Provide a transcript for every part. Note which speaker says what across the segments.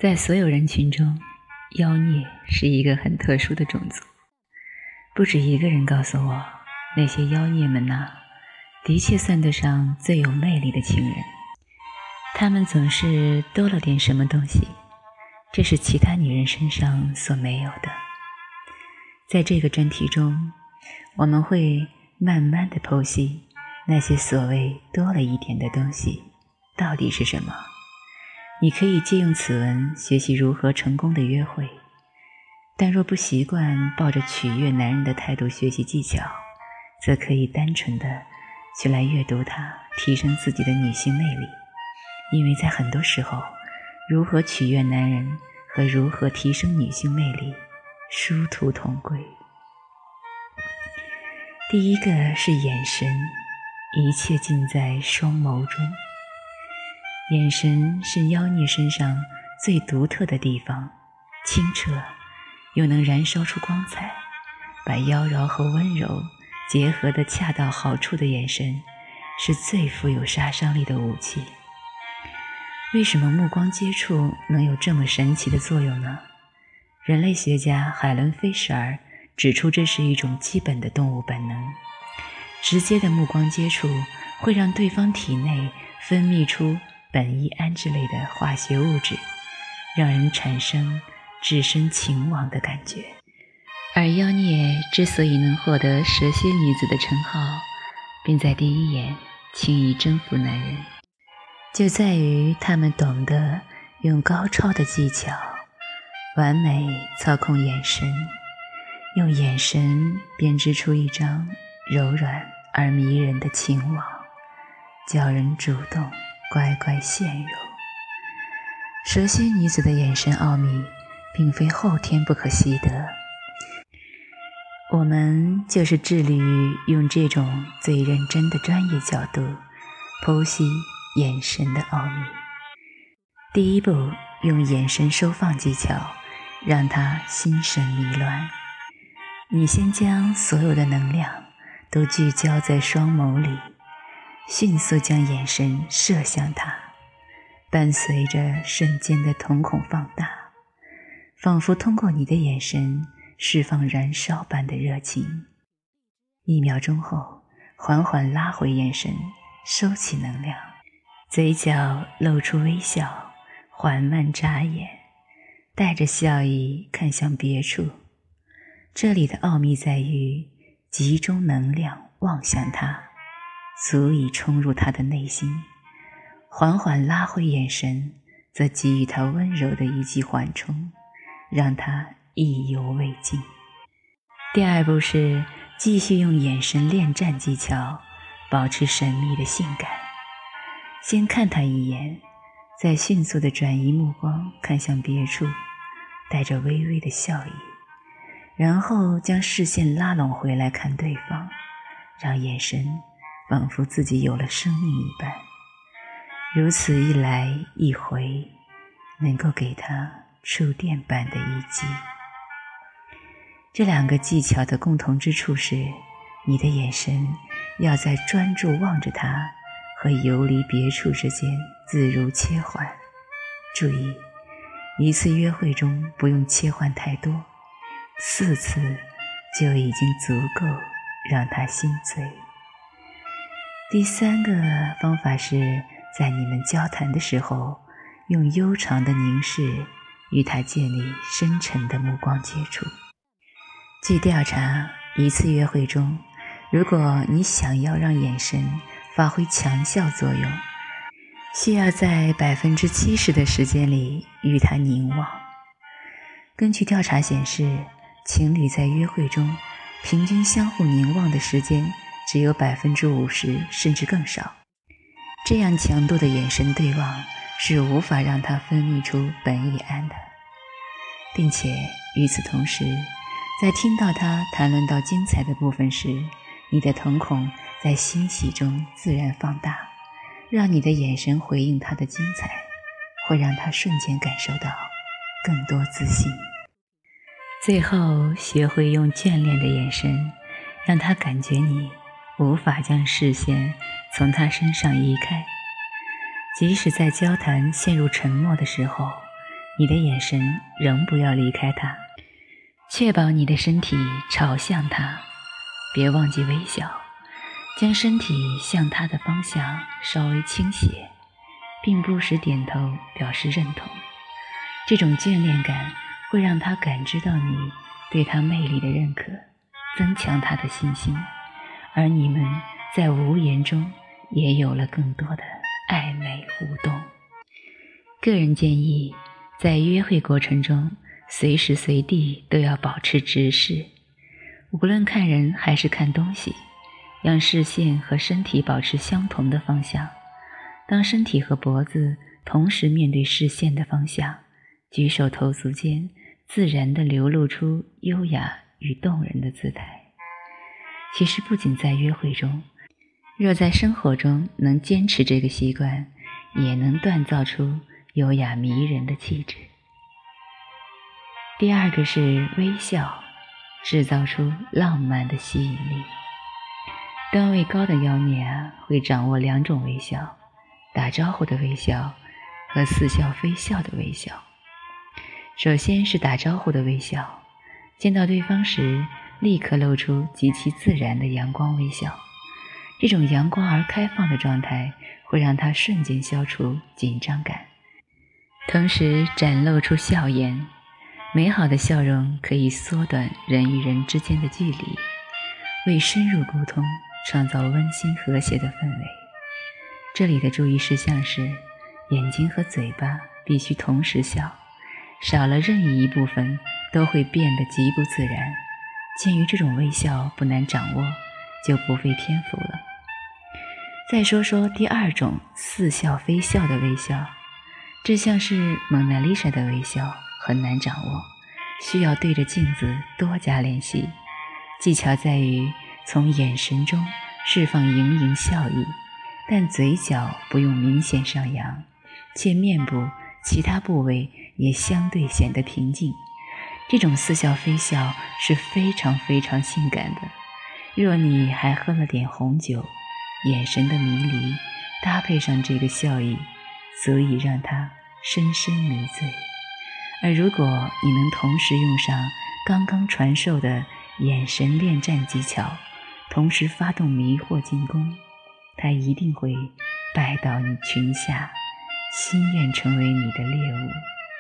Speaker 1: 在所有人群中，妖孽是一个很特殊的种族。不止一个人告诉我，那些妖孽们的确算得上最有魅力的情人。他们总是多了点什么东西，这是其他女人身上所没有的。在这个专题中，我们会慢慢地剖析那些所谓多了一点的东西到底是什么。你可以借用此文学习如何成功的约会，但若不习惯抱着取悦男人的态度学习技巧，则可以单纯的去来阅读它，提升自己的女性魅力。因为在很多时候，如何取悦男人和如何提升女性魅力殊途同归。第一个是眼神，一切尽在双眸中。眼神是妖孽身上最独特的地方，清澈又能燃烧出光彩，把妖娆和温柔结合得恰到好处的眼神，是最富有杀伤力的武器。为什么目光接触能有这么神奇的作用呢？人类学家海伦·菲舍尔指出，这是一种基本的动物本能。直接的目光接触会让对方体内分泌出苯乙胺之类的化学物质，让人产生置身情网的感觉。而妖孽之所以能获得蛇蝎女子的称号，并在第一眼轻易征服男人，就在于他们懂得用高超的技巧完美操控眼神，用眼神编织出一张柔软而迷人的情网，叫人主动乖乖陷入。蛇蝎女子的眼神奥秘并非后天不可习得，我们就是致力于用这种最认真的专业角度剖析眼神的奥秘。第一步，用眼神收放技巧让他心神迷乱。你先将所有的能量都聚焦在双眸里，迅速将眼神射向他，伴随着瞬间的瞳孔放大，仿佛通过你的眼神释放燃烧般的热情。1秒钟后，缓缓拉回眼神，收起能量，嘴角露出微笑，缓慢眨眼，带着笑意看向别处。这里的奥秘在于集中能量望向他，足以冲入他的内心。缓缓拉回眼神，则给予他温柔的一记缓冲，让他意犹未尽。第二步是继续用眼神恋战技巧保持神秘的性感。先看他一眼，再迅速地转移目光看向别处，带着微微的笑意，然后将视线拉拢回来看对方，让眼神仿佛自己有了生命一般。如此一来一回，能够给他触电般的一击。这2个技巧的共同之处是，你的眼神要在专注望着他和游离别处之间自如切换。注意，一次约会中不用切换太多，4次就已经足够让他心醉。第3个方法是在你们交谈的时候，用悠长的凝视与他建立深沉的目光接触。据调查，一次约会中，如果你想要让眼神发挥强效作用，需要在 70% 的时间里与他凝望。根据调查显示，情侣在约会中平均相互凝望的时间只有 50% 甚至更少。这样强度的眼神对望是无法让他分泌出苯乙胺的，并且与此同时，在听到他谈论到精彩的部分时，你的瞳孔在欣喜中自然放大，让你的眼神回应他的精彩，会让他瞬间感受到更多自信。最后，学会用眷恋的眼神，让他感觉你无法将视线从他身上移开。即使在交谈陷入沉默的时候， 你的眼神仍不要离开它，确保你的身体朝向它，别忘记微笑，将身体向它的方向稍微倾斜，并不时点头表示认同。这种眷恋感会让他感知到你对他魅力的认可，增强他的信心，而你们在无言中也有了更多的暧昧互动。个人建议，在约会过程中随时随地都要保持直视，无论看人还是看东西，让视线和身体保持相同的方向。当身体和脖子同时面对视线的方向，举手投足间自然地流露出优雅与动人的姿态。其实不仅在约会中，若在生活中能坚持这个习惯，也能锻造出优雅迷人的气质。第二个是微笑，制造出浪漫的吸引力。段位高的妖孽会掌握2种微笑，打招呼的微笑和似笑非笑的微笑。首先是打招呼的微笑，见到对方时立刻露出极其自然的阳光微笑，这种阳光而开放的状态会让他瞬间消除紧张感，同时展露出笑颜。美好的笑容可以缩短人与人之间的距离，为深入沟通创造温馨和谐的氛围。这里的注意事项是，眼睛和嘴巴必须同时笑，少了任意一部分都会变得极不自然。鉴于这种微笑不难掌握，就不费篇幅了。再说说第2种似笑非笑的微笑，这像是蒙娜丽莎的微笑，很难掌握，需要对着镜子多加练习。技巧在于从眼神中释放盈盈笑意，但嘴角不用明显上扬，且面部其他部位也相对显得平静。这种似笑非笑是非常非常性感的，若你还喝了点红酒，眼神的迷离搭配上这个笑意，足以让它深深迷醉。而如果你能同时用上刚刚传授的眼神恋战技巧，同时发动迷惑进攻，它一定会拜到你裙下，心愿成为你的猎物。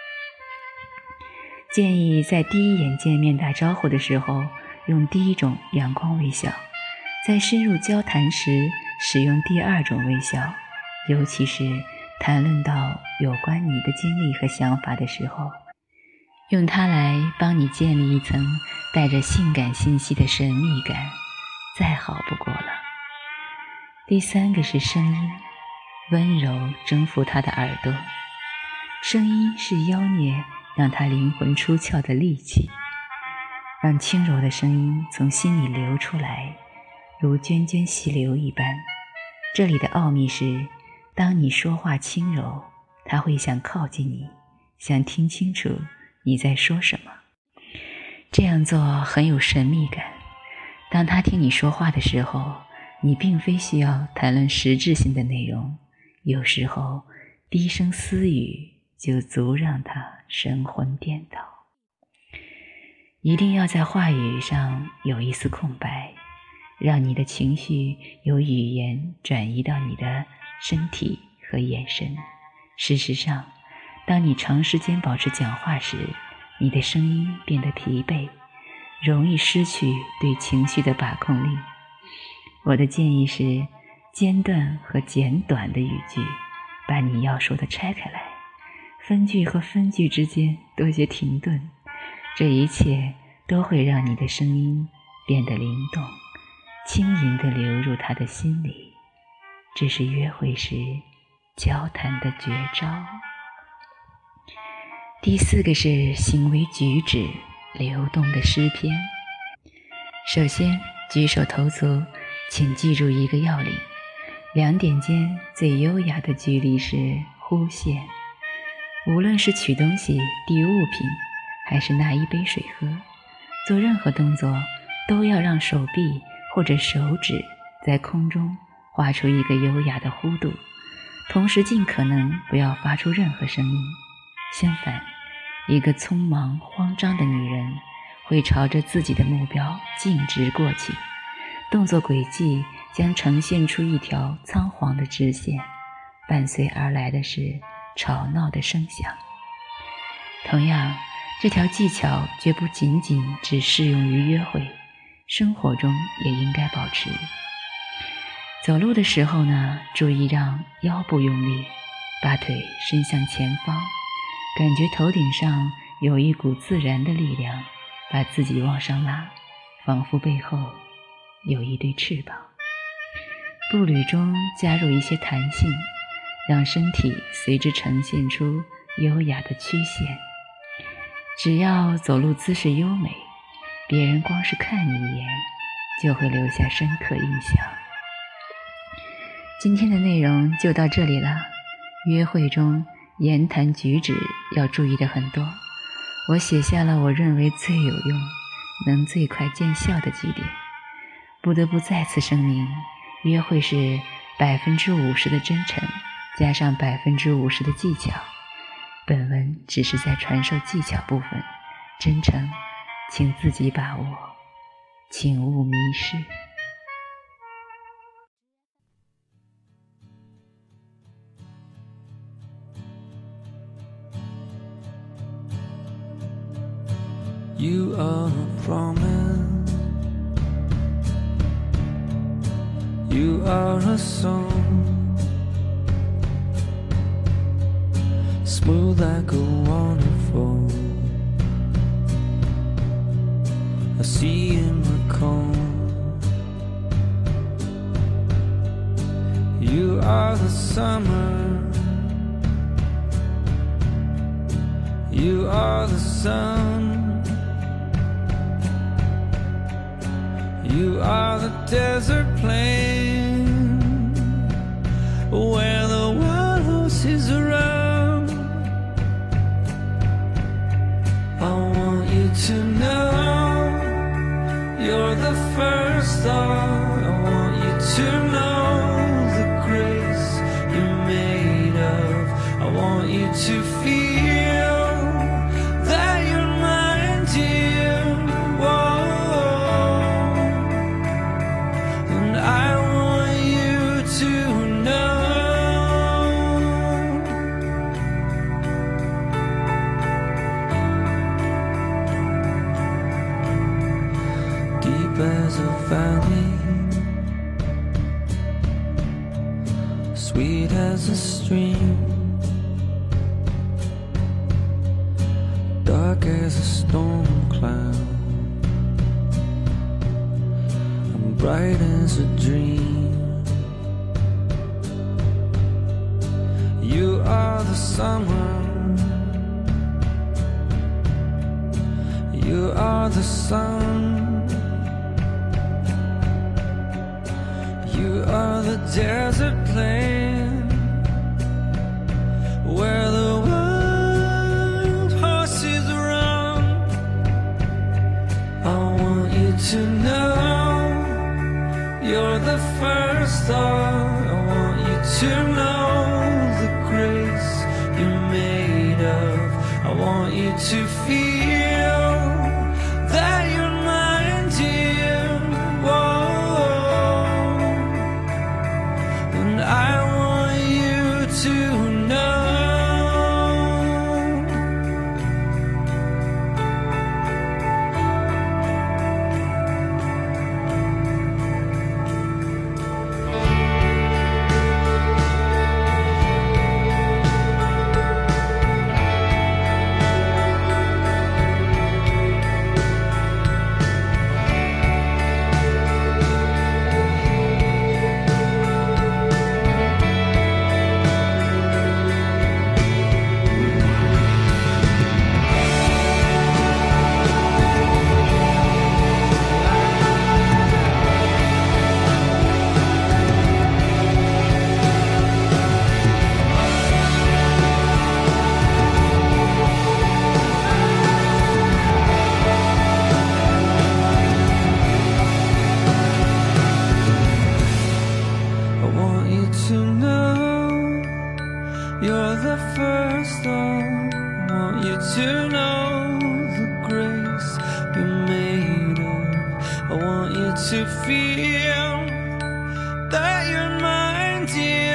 Speaker 1: 建议在第一眼见面打招呼的时候用第1种阳光微笑，在深入交谈时使用第2种微笑，尤其是谈论到有关你的经历和想法的时候，用它来帮你建立一层带着性感信息的神秘感，再好不过了。第3个是声音，温柔征服他的耳朵。声音是妖孽让他灵魂出窍的利器，让轻柔的声音从心里流出来，如涓涓细流一般。这里的奥秘是，当你说话轻柔，他会想靠近你，想听清楚你在说什么。这样做很有神秘感。当他听你说话的时候，你并非需要谈论实质性的内容，有时候低声私语就足让他神魂颠倒。一定要在话语上有一丝空白，让你的情绪由语言转移到你的身体和眼神。事实上，当你长时间保持讲话时，你的声音变得疲惫，容易失去对情绪的把控力。我的建议是，间断和简短的语句，把你要说的拆开来，分句和分句之间多些停顿，这一切都会让你的声音变得灵动，轻盈地流入他的心里。这是约会时交谈的绝招。第4个是行为举止流动的诗篇。首先，举手投足请记住一个要领，2点间最优雅的距离是忽线。无论是取东西、递物品，还是拿一杯水喝，做任何动作都要让手臂或者手指在空中画出一个优雅的弧度，同时尽可能不要发出任何声音。相反， 一个匆忙慌张的女人会朝着自己的目标径直过去，动作轨迹将呈现出一条仓皇的直线，伴随而来的是吵闹的声响。同样，这条技巧绝不仅仅只适用于约会，生活中也应该保持。走路的时候呢，注意让腰部用力，把腿伸向前方，感觉头顶上有一股自然的力量把自己往上拉，仿佛背后有一对翅膀。步履中加入一些弹性，让身体随之呈现出优雅的曲线。只要走路姿势优美，别人光是看你一眼就会留下深刻印象。今天的内容就到这里了。约会中言谈举止要注意的很多，我写下了我认为最有用、能最快见效的几点。不得不再次声明，约会是50%的真诚加上50%的技巧，本文只是在传授技巧部分，真诚请自己把握，请勿迷失。
Speaker 2: You are a promise, you are a song, smooth like a waterfall, a sea in the calm. You are the summer, you are the sun, you are the desert plain where the wild horses run. I want you to know you're the first thought. I want you to know the grace you're made of. I want you to feel that you're mine, dear. I want you to know deep as a valley, sweet as a stream, dark as a storm cloud, bright as a dream. You are the summer, you are the sun, you are the desert plain where the wild horses run. I want you to know you're the first thought. I want you to know the grace you're made of. I want you to feel that you're mine, dear. Whoa. And I want you to know you're the first thought. want you to know the grace you're made of. I want you to feel that you're mine, dear.